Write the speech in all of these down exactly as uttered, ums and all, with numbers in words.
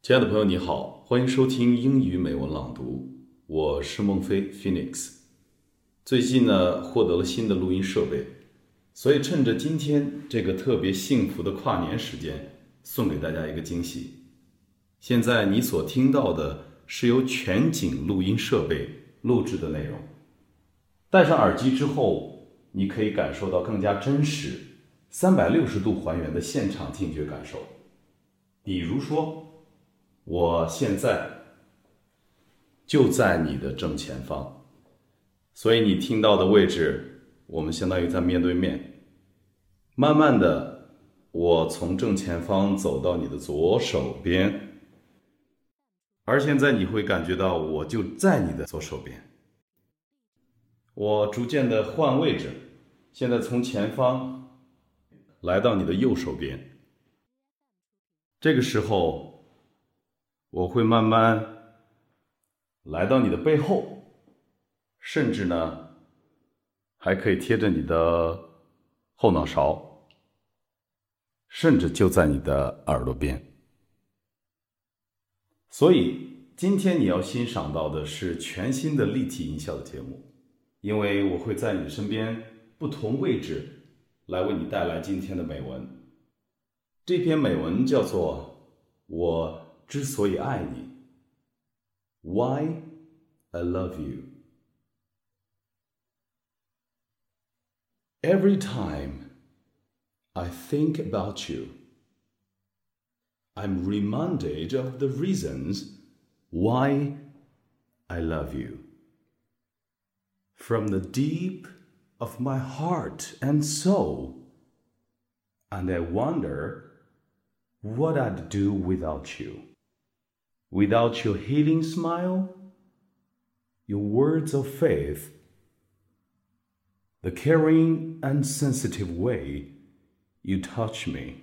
亲爱的朋友你好，欢迎收听英语美文朗读，我是孟非 Phoenix。 最近呢获得了新的录音设备，所以趁着今天这个特别幸福的跨年时间，送给大家一个惊喜。现在你所听到的是由全景录音设备录制的内容，戴上耳机之后，你可以感受到更加真实三百六十度还原的现场听觉感受。比如说我现在就在你的正前方，所以你听到的位置，我们相当于在面对面。慢慢的，我从正前方走到你的左手边，而现在你会感觉到我就在你的左手边。我逐渐的换位置，现在从前方来到你的右手边。这个时候我会慢慢来到你的背后，甚至呢还可以贴着你的后脑勺，甚至就在你的耳朵边。所以今天你要欣赏到的是全新的立体音效的节目，因为我会在你身边不同位置来为你带来今天的美文。这篇美文叫做我之所以爱你， Why I love you. Every time I think about you, I'm reminded of the reasons why I love you. From the deep of my heart and soul, and I wonder what I'd do without you. Without your healing smile, your words of faith, the caring and sensitive way you touch me,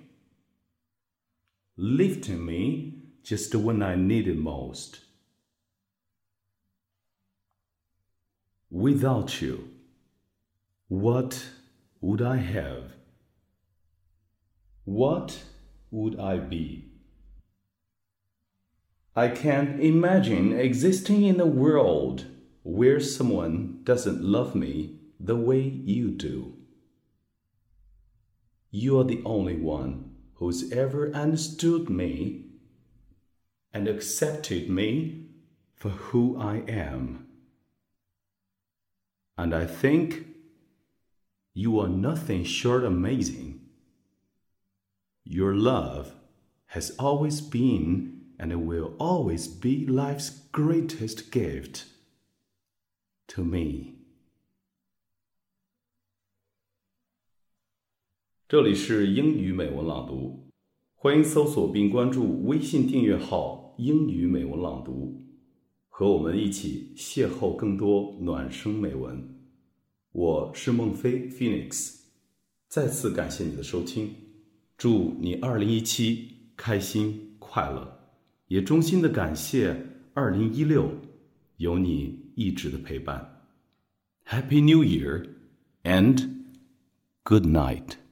lifting me just when I need it most. Without you, what would I have? What would I be? I can't imagine existing in a world where someone doesn't love me the way you do. You are the only one who's ever understood me and accepted me for who I am. And I think you are nothing short amazing. Your love has always been and it will always be life's greatest gift to me. 这里是英语美文朗读，欢迎搜索并关注微信订阅号英语美文朗读，和我们一起邂逅更多暖声美文。我是孟非 Phoenix， 再次感谢你的收听，祝你二零一七开心快乐。也衷心的感谢二零一六有你一直的陪伴。Happy New Year and good night.